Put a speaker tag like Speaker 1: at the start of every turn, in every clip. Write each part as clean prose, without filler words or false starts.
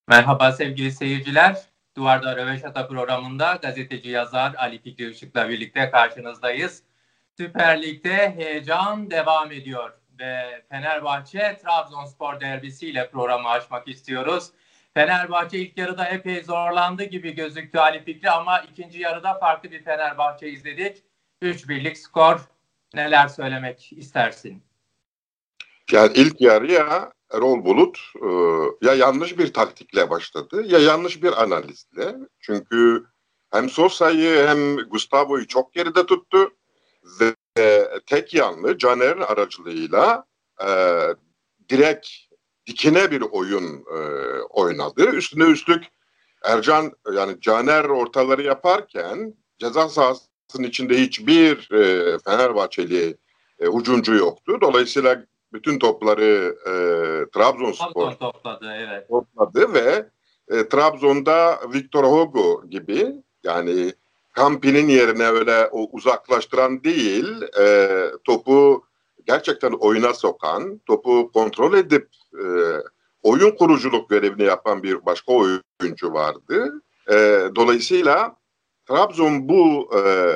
Speaker 1: Merhaba sevgili seyirciler. Duvarda Röveşata programında gazeteci yazar Ali Fikri Işık'la birlikte karşınızdayız. Süper Lig'de heyecan devam ediyor ve Fenerbahçe Trabzonspor derbisiyle programı açmak istiyoruz. Fenerbahçe ilk yarıda epey zorlandı gibi gözüktü Ali Fikri ama ikinci yarıda farklı bir Fenerbahçe izledik. 3-1'lik skor. Neler söylemek istersin?
Speaker 2: Yani ilk yarıya Erol Bulut ya yanlış bir taktikle başladı ya yanlış bir analizle. Çünkü hem Sosa'yı hem Gustavo'yu çok geride tuttu ve tek yanlı Caner'in aracılığıyla direkt dikine bir oyun oynadı. Üstüne üstlük Ercan yani Caner ortaları yaparken ceza sahasının içinde hiçbir Fenerbahçeli hücumcu yoktu. Dolayısıyla bütün topları Trabzonspor
Speaker 1: topladı, evet.
Speaker 2: topladı ve Trabzon'da Victor Hugo gibi yani Campi'nin yerine öyle o uzaklaştıran değil topu gerçekten oyuna sokan, topu kontrol edip oyun kuruculuk görevini yapan bir başka oyuncu vardı. Dolayısıyla Trabzon bu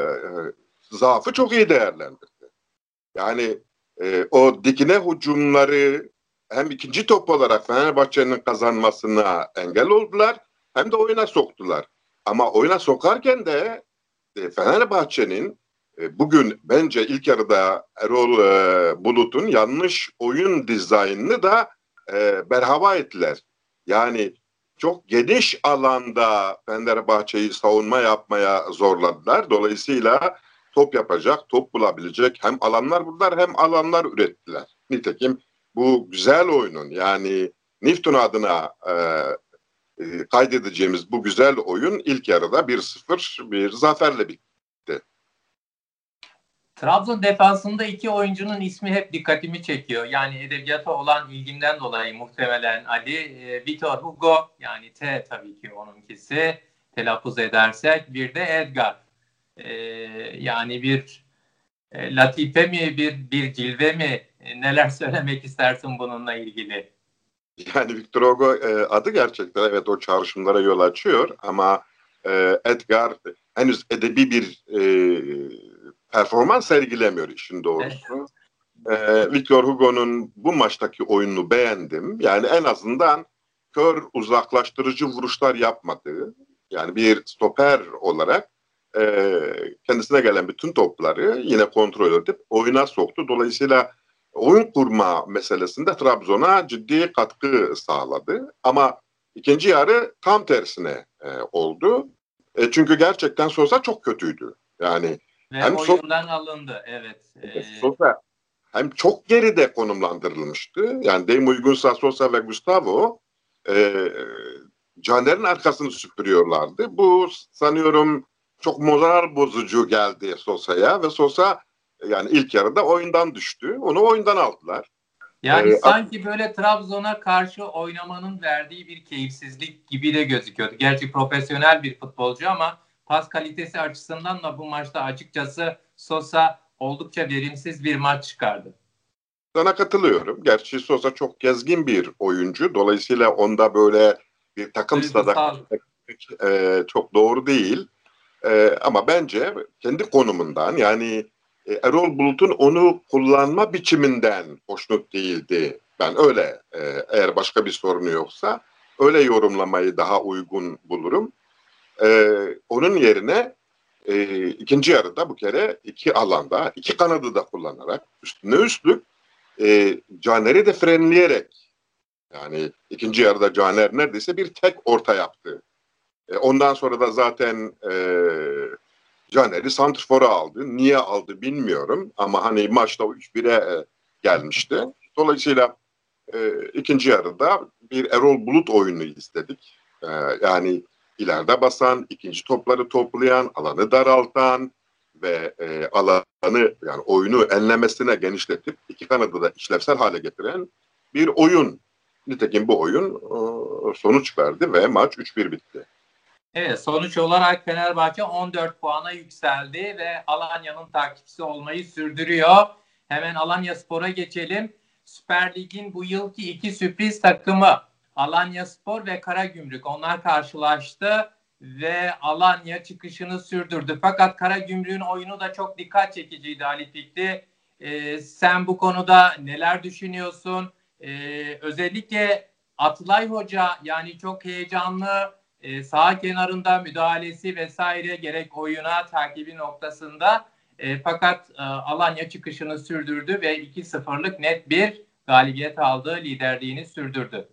Speaker 2: zaafı çok iyi değerlendirdi. Yani o dikine hücumları hem ikinci top olarak Fenerbahçe'nin kazanmasına engel oldular hem de oyuna soktular. Ama oyuna sokarken de Fenerbahçe'nin bugün bence ilk yarıda Erol Bulut'un yanlış oyun dizaynını da berhava ettiler. Yani çok geniş alanda Fenerbahçe'yi savunma yapmaya zorladılar. Dolayısıyla top yapacak, top bulabilecek hem alanlar buldular hem alanlar ürettiler. Nitekim bu güzel oyunun yani Nifton adına kaydedeceğimiz bu güzel oyun ilk yarıda 1-0 bir zaferle bitti.
Speaker 1: Trabzon defansında iki oyuncunun ismi hep dikkatimi çekiyor. Yani edebiyata olan ilgimden dolayı muhtemelen Ali. Victor Hugo, yani T tabii ki onunkisi telaffuz edersek. Bir de Edgar. Yani bir latife mi, bir cilve mi? Neler söylemek istersin bununla ilgili?
Speaker 2: Yani Victor Hugo adı gerçekten evet o çağrışımlara yol açıyor ama Edgar henüz edebi bir performans sergilemiyor işin doğrusu. Victor Hugo'nun bu maçtaki oyununu beğendim. Yani en azından kör uzaklaştırıcı vuruşlar yapmadığı, yani bir stoper olarak kendisine gelen bütün topları yine kontrol edip oyuna soktu. Dolayısıyla oyun kurma meselesinde Trabzon'a ciddi katkı sağladı. Ama ikinci yarı tam tersine oldu. Çünkü gerçekten Sosa çok kötüydü. Yani
Speaker 1: ve hem oyundan alındı, evet.
Speaker 2: Sosa hem çok geride konumlandırılmıştı. Yani deyim uygunsa Sosa ve Gustavo Caner'in arkasını süpürüyorlardı. Bu sanıyorum çok moral bozucu geldi Sosa'ya ve Sosa yani ilk yarıda oyundan düştü. Onu oyundan aldılar.
Speaker 1: Yani sanki böyle Trabzon'a karşı oynamanın verdiği bir keyifsizlik gibi de gözüküyordu. Gerçi profesyonel bir futbolcu ama pas kalitesi açısından da bu maçta açıkçası Sosa oldukça verimsiz bir maç çıkardı.
Speaker 2: Sana katılıyorum. Gerçi Sosa çok gezgin bir oyuncu. Dolayısıyla onda böyle bir takım sadakati çok doğru değil. Ama bence kendi konumundan yani Erol Bulut'un onu kullanma biçiminden hoşnut değildi. Ben öyle eğer başka bir sorunu yoksa öyle yorumlamayı daha uygun bulurum. Onun yerine ikinci yarıda bu kere iki alanda iki kanadı da kullanarak üstüne üstlük Caner'i de frenleyerek yani ikinci yarıda Caner neredeyse bir tek orta yaptı. Ondan sonra da zaten Caner'i santrfora aldı. Niye aldı bilmiyorum ama hani maçta 3-1'e gelmişti. Dolayısıyla ikinci yarıda bir Erol Bulut oyunu istedik. Yani ileride basan, ikinci topları toplayan, alanı daraltan ve alanı yani oyunu enlemesine genişletip iki kanadı da işlevsel hale getiren bir oyun. Nitekim bu oyun sonuç verdi ve maç 3-1 bitti.
Speaker 1: Evet, sonuç olarak Fenerbahçe 14 puana yükseldi ve Alanya'nın takipçisi olmayı sürdürüyor. Hemen Alanyaspor'a geçelim. Süper Lig'in bu yılki iki sürpriz takımı Alanyaspor ve Karagümrük onlar karşılaştı ve Alanya çıkışını sürdürdü. Fakat Karagümrük'ün oyunu da çok dikkat çekiciydi Ali Fikri. Sen bu konuda neler düşünüyorsun? Özellikle Atılay Hoca yani çok heyecanlı sağ kenarında müdahalesi vesaire gerek oyuna takibi noktasında fakat Alanya çıkışını sürdürdü ve 2-0'lık net bir galibiyet aldı, liderliğini sürdürdü.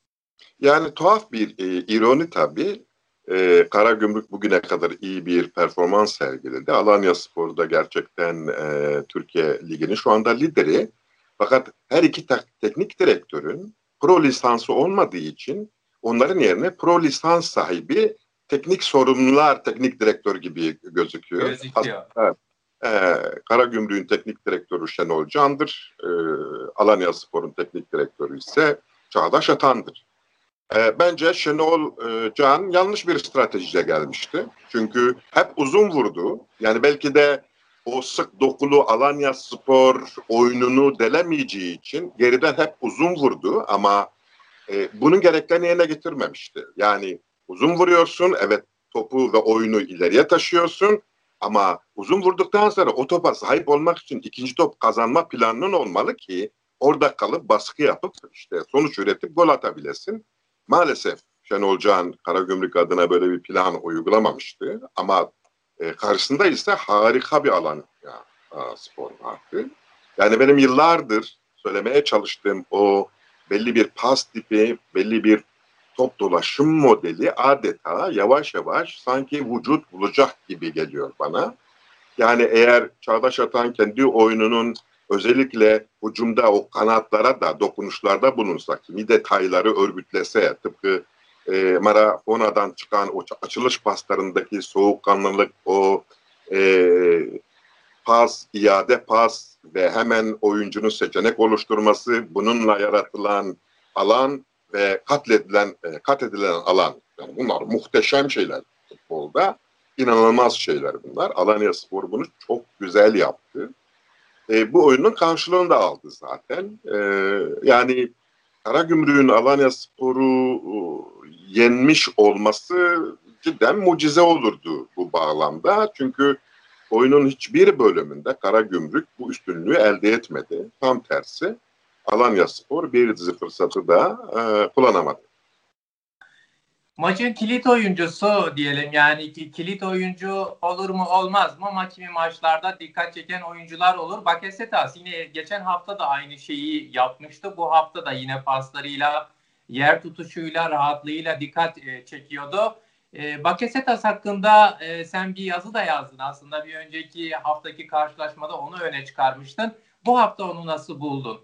Speaker 2: Yani tuhaf bir ironi tabii. Karagümrük bugüne kadar iyi bir performans sergiledi. Alanyaspor da gerçekten Türkiye Ligi'nin şu anda lideri. Fakat her iki teknik direktörün pro lisansı olmadığı için onların yerine pro lisans sahibi teknik sorumlular teknik direktör gibi gözüküyor. Aslında, Karagümrük'ün teknik direktörü Şenol Can'dır. Alanyaspor'un teknik direktörü ise Çağdaş Atan'dır. Bence Şenol Can yanlış bir stratejiyle gelmişti. Çünkü hep uzun vurdu. Yani belki de o sık dokulu Alanyaspor oyununu delemeyeceği için geriden hep uzun vurdu ama bunun gereklerini yerine getirmemişti. Yani uzun vuruyorsun, evet topu ve oyunu ileriye taşıyorsun ama uzun vurduktan sonra o topa sahip olmak için ikinci top kazanma planının olmalı ki orada kalıp baskı yapıp işte sonuç üretip gol atabilesin. Maalesef Şenol Can Karagümrük adına böyle bir plan uygulamamıştı ama karşısında ise harika bir alan spor vardı. Yani benim yıllardır söylemeye çalıştığım o belli bir pas tipi, belli bir top dolaşım modeli adeta yavaş yavaş sanki vücut bulacak gibi geliyor bana. Yani eğer Çağdaş Atan kendi oyununun özellikle hücumda o kanatlara da dokunuşlarda bulunsa, kimi detayları örgütlese, tıpkı Marafona'dan çıkan o açılış paslarındaki soğukkanlılık, o pas, iade pas ve hemen oyuncunun seçenek oluşturması, bununla yaratılan alan ve kat edilen alan. Yani bunlar muhteşem şeyler futbolda. İnanılmaz şeyler bunlar. Alanyaspor bunu çok güzel yaptı. Bu oyunun karşılığını da aldı zaten. Yani Karagümrük'ün Alanyaspor'u yenmiş olması cidden mucize olurdu bu bağlamda. Çünkü oyunun hiçbir bölümünde Karagümrük bu üstünlüğü elde etmedi. Tam tersi Alanyaspor bir dizi fırsatı da kullanamadı.
Speaker 1: Maçın kilit oyuncusu diyelim yani kilit oyuncu olur mu olmaz mı ama kimi maçlarda dikkat çeken oyuncular olur. Bakasetas yine geçen hafta da aynı şeyi yapmıştı. Bu hafta da yine paslarıyla, yer tutuşuyla, rahatlığıyla dikkat çekiyordu. Bakasetas hakkında sen bir yazı da yazdın aslında. Bir önceki haftaki karşılaşmada onu öne çıkarmıştın. Bu hafta onu nasıl buldun?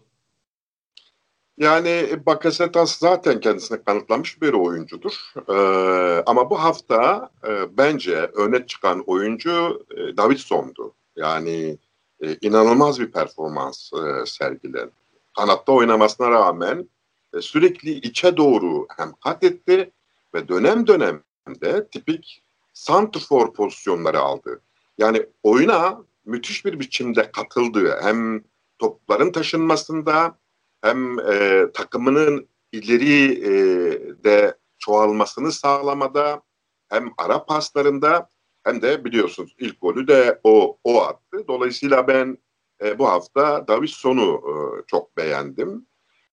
Speaker 2: Yani Bakasetas zaten kendisini kanıtlamış bir oyuncudur. Ama bu hafta bence öne çıkan oyuncu Davidson'du. Yani inanılmaz bir performans sergiledi. Kanatta oynamasına rağmen sürekli içe doğru hem kat etti ve dönem dönemde tipik santrfor pozisyonları aldı. Yani oyuna müthiş bir biçimde katıldı. Hem topların taşınmasında hem takımının ileri de çoğalmasını sağlamada hem ara paslarında hem de biliyorsunuz ilk golü de o attı. Dolayısıyla ben bu hafta Davidson'u çok beğendim.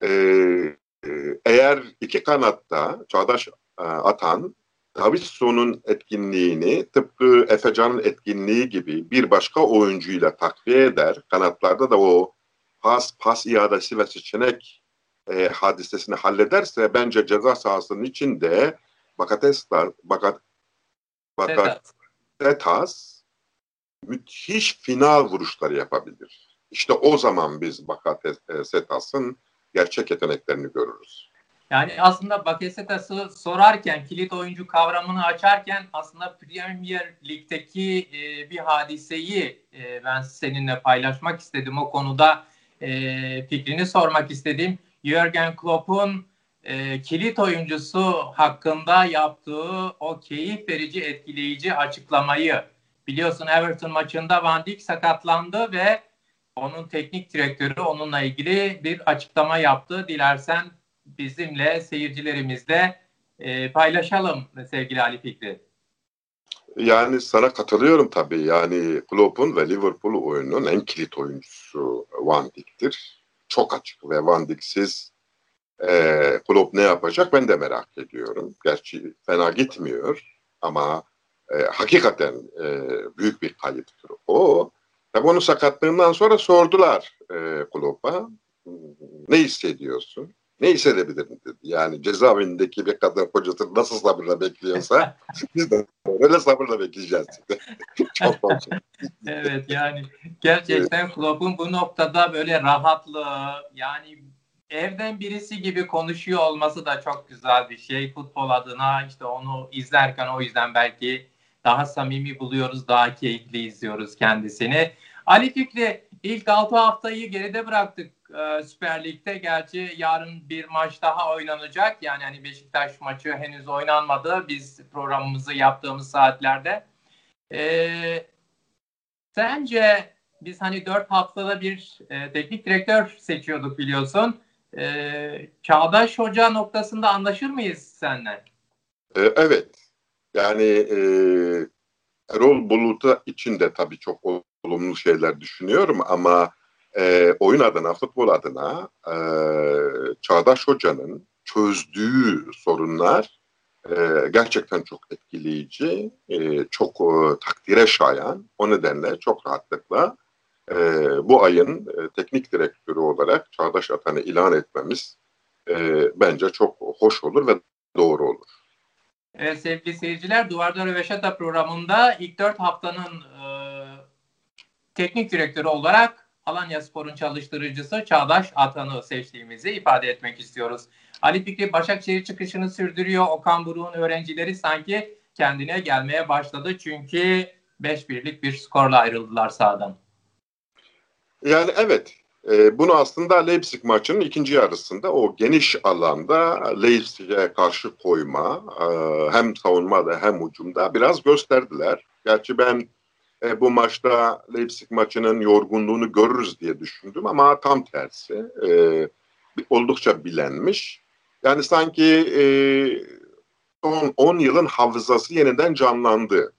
Speaker 2: Eğer iki kanatta Çağdaş Atan Davidson'un etkinliğini tıpkı Efecan'ın etkinliği gibi bir başka oyuncuyla takviye eder. Kanatlarda da o pas iadesi ve seçenek hadisesini hallederse bence ceza sahasının içinde Bakasetas müthiş final vuruşları yapabilir. İşte o zaman biz Bakasetas'ın gerçek yeteneklerini görürüz.
Speaker 1: Yani aslında Bakasetas'ı sorarken, kilit oyuncu kavramını açarken aslında Premier Lig'deki bir hadiseyi ben seninle paylaşmak istedim. O konuda fikrini sormak istedim. Jürgen Klopp'un kilit oyuncusu hakkında yaptığı o keyif verici, etkileyici açıklamayı. Biliyorsun Everton maçında Van Dijk sakatlandı ve onun teknik direktörü onunla ilgili bir açıklama yaptı. Dilersen bizimle, seyircilerimizle paylaşalım sevgili Ali Fikri.
Speaker 2: Yani sana katılıyorum tabii. Yani Klopp'un ve Liverpool oyununun en kilit oyuncusu Van Dijk'tir. Çok açık ve Van Dijk'siz Klopp ne yapacak ben de merak ediyorum. Gerçi fena gitmiyor ama hakikaten büyük bir kayıptır o. Tabii onun sakatlığından sonra sordular Klopp'a. Ne hissediyorsun? Ne hissedebilirim dedi. Yani cezaevindeki bir kadın kocasını nasıl sabırla bekliyorsa biz de öyle sabırla bekleyeceğiz. Çok olsun.
Speaker 1: Evet, yani gerçekten Klopp'un bu noktada böyle rahatlığı, yani evden birisi gibi konuşuyor olması da çok güzel bir şey. Futbol adına işte onu izlerken o yüzden belki daha samimi buluyoruz, daha keyifli izliyoruz kendisini. Ali Fikri, ilk 6 haftayı geride bıraktık Süper Lig'de. Gerçi yarın bir maç daha oynanacak. Yani hani Beşiktaş maçı henüz oynanmadı. Biz programımızı yaptığımız saatlerde. Sence biz hani 4 haftada bir teknik direktör seçiyorduk biliyorsun. Çağdaş Hoca noktasında anlaşır mıyız seninle?
Speaker 2: Evet. Yani Erol Bulut'a için de tabii çok olumlu şeyler düşünüyorum ama oyun adına, futbol adına Çağdaş Hoca'nın çözdüğü sorunlar gerçekten çok etkileyici, çok takdire şayan. O nedenle çok rahatlıkla bu ayın teknik direktörü olarak Çağdaş Atan'ı ilan etmemiz bence çok hoş olur ve doğru olur.
Speaker 1: Evet sevgili seyirciler, Duvarda Röveşata programında ilk 4 haftanın teknik direktörü olarak Alanyaspor'un çalıştırıcısı Çağdaş Atan'ı seçtiğimizi ifade etmek istiyoruz. Ali Fikri Başakşehir çıkışını sürdürüyor. Okan Buruk'un öğrencileri sanki kendine gelmeye başladı. Çünkü 5-1'lik bir skorla ayrıldılar sahadan.
Speaker 2: Yani evet, bunu aslında Leipzig maçının ikinci yarısında o geniş alanda Leipzig'e karşı koyma, hem savunmada hem hücumda biraz gösterdiler. Gerçi ben bu maçta Leipzig maçının yorgunluğunu görürüz diye düşündüm ama tam tersi. Oldukça bilenmiş. Yani sanki son 10 yılın hafızası yeniden canlandı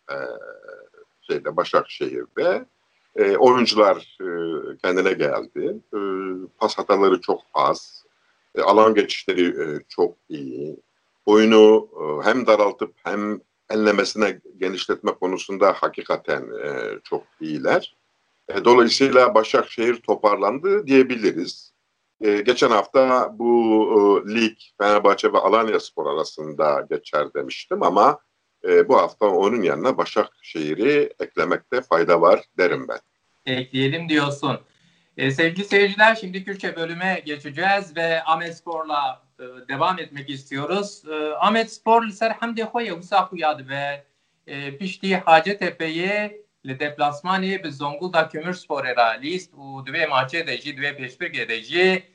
Speaker 2: Başakşehir'de. Oyuncular kendine geldi. Pas hataları çok az. Alan geçişleri çok iyi. Oyunu hem daraltıp hem enlemesine genişletme konusunda hakikaten çok iyiler. Dolayısıyla Başakşehir toparlandı diyebiliriz. Geçen hafta bu lig Fenerbahçe ve Alanyaspor arasında geçer demiştim ama bu hafta onun yanına Başakşehir'i eklemekte fayda var derim ben.
Speaker 1: Ekleyelim diyorsun. Sevgili seyirciler, şimdi Kürtçe bölüme geçeceğiz ve Ahmetspor'la devam etmek istiyoruz. Ahmetspor Serhamdi Xoye Husaku yadı ve pişti Hacettepe'yi li deplasmanı bi Zonguldak Kömürspor era list u dve maçı deji dve peşbir deji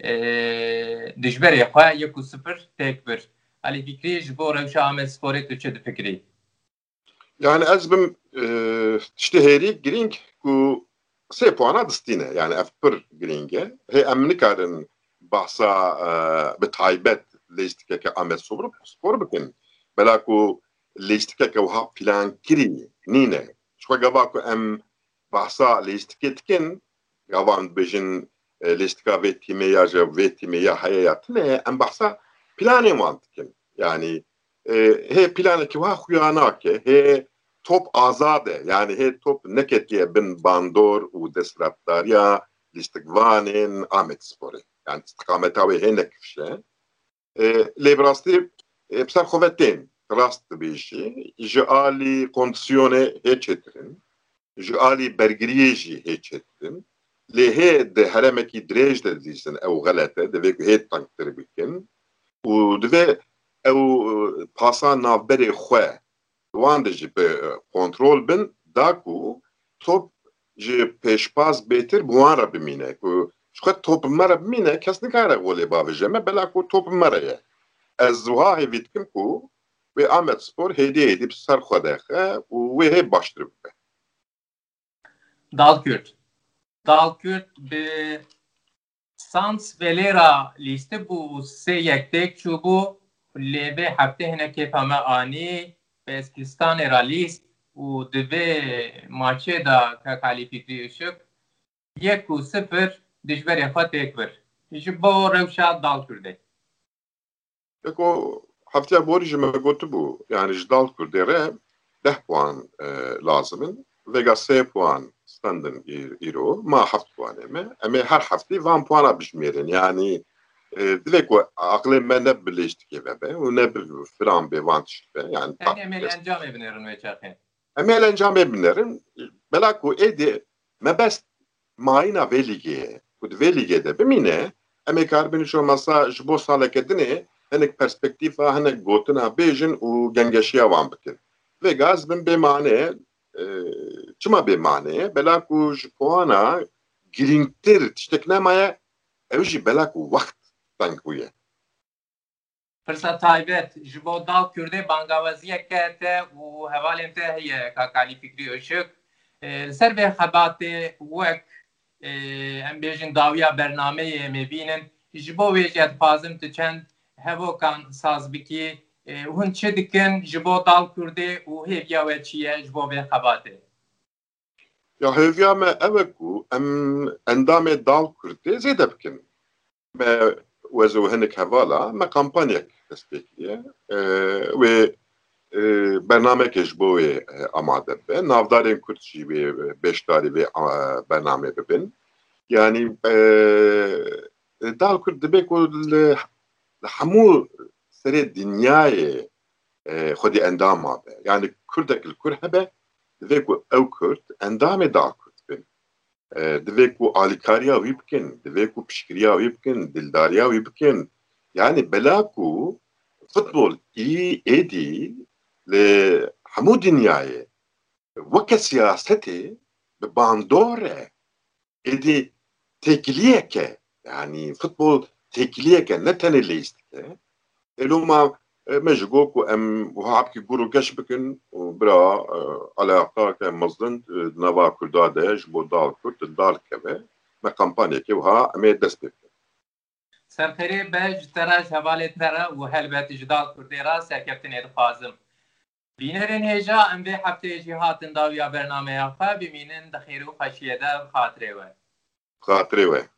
Speaker 1: dijberi Xoye 1-0 tek bir. Ali Fikri ji bo rewşa Ahmetspor'e Türkçe fikri.
Speaker 2: Yani ez bim heri giring ku 3 puana distîne yani ev pir giring e. Hê em nikarin behsa bi taybet lêstikeke Ahmetspor bikin. Bela ku lêstikeke wiha plânkirî nîne. Şixwe gava ku em behsa lêstikê dikin, gavan dibêjin lêstika vê tîmê ya ji vê tîmê ya heye ya tune em behsa planên wan dikin. Yani hê planekî wiha xuya nake, hê top azade yani hê top neketiye bin bandor û desthilatdariya lîstikvanên Ahmetsporê. Yani istikameta wê hê nekişe. Lê bi rastî bi ser xwe ve tên rast dibêjî ji alî kondisyonê hê çêtirin, ji alî bergiriyê jî hê çêtirin. Lê hê di heremekî dirêj de dîsin ew xelet e, divê ku hê tengtir bikin û divê ew pasa navberê xwe wan de jî kontrol bin da ku top ji pêşbaz bêtir bi wan re bimîne ku xwe top me re bimîne kes nikare golê bavêje me bela ku top me re ye. Ez wiha hêvî dikim ku wê Ahmetspor hêdî hêdî bi ser xwe dexe û wê hê baştir bibe.
Speaker 1: Dalkürt. Dalkürt bi Sans velera liste bu se yektek çubu leve hafte hineke fame ani Peskistan era list u dve maçe da kakali fikri ışık 1-0 dijber yafa tekbir. Ji bo rewşa dal kurde.
Speaker 2: Eko haftaya borcu me gotu bu. Yani jdal kurdere 10 puan lazımın. Vega 3 puan standın iro. Ma haft puan eme. Ama her hafta 1 puana bişmeyerin. Yani direkt o aklı ne birleştik eve be. O ne bir filan bir vantış be. Yani
Speaker 1: emel encam ebinerin ve çakın.
Speaker 2: Emel encam ebinerin. Belaku edi mebest maina velige. Bu veligede bimine. Emek harbiniş olmasa jbo saleketini henek perspektifa henek gotuna bejin u gengeşiya van bikin. Ve gaz bin bemane çıma bemane belaku jpoana giringtir tişteknemaya evji belaku vakt tankuye.
Speaker 1: Fırsat taybet ji bo dal kurde bangavaziye kete û hevalên te heye kakalî fikri ışık ser ve xebatê wek em bêjin dawiya bernameyê me bînin ji bo wê jî dixwazim tu çend hevokan sazbikî hûn çi dikin ji bo dal kurdê û hêviya we çi ye ji bo vê xebatê.
Speaker 2: Ya hevya me eveku em endamê dal kurdê zêde bikin. Me wezo hinek hevala me kampanyek destekiye ve bernameke ji bo wê amade be. Navdarên Kurd jî wê beşdarî vê bername bibin. Yani dal Kurd dibe ku li hemû serê dinyayê xwedî endam mabe. Yani Kurdek li Kur hebe divê ku ew Kurd endamê dal Kurd bin. Divê ku alîkariya wî bikin, divê ku piştgiriya wî bikin, dildariya wî bikin. Yani bela ku futbol êdî li hemû dinyayê weke siyasetê bi bandor e. Êdî têkiliyeke. Yani futbol têkiliyeke ne tenê lêstike. Elûma me ji got ku em wiha hepkî gur û geş bikin û bira alaqake mezin nava Kurda de ji bo dal Kurd dal keve me kampanyekê wiha em ê dest pê bikin.
Speaker 1: Serxerê be ji te re ji hevalê te re û helbetî ji dal kurdê re serkeftinê dixwazim. Bînerên hêja em vê hefteyê jî hatin dawiya bernameya xwe bimînin di xêr û xweşiyê de bi xatirê we.
Speaker 2: Xatirê we.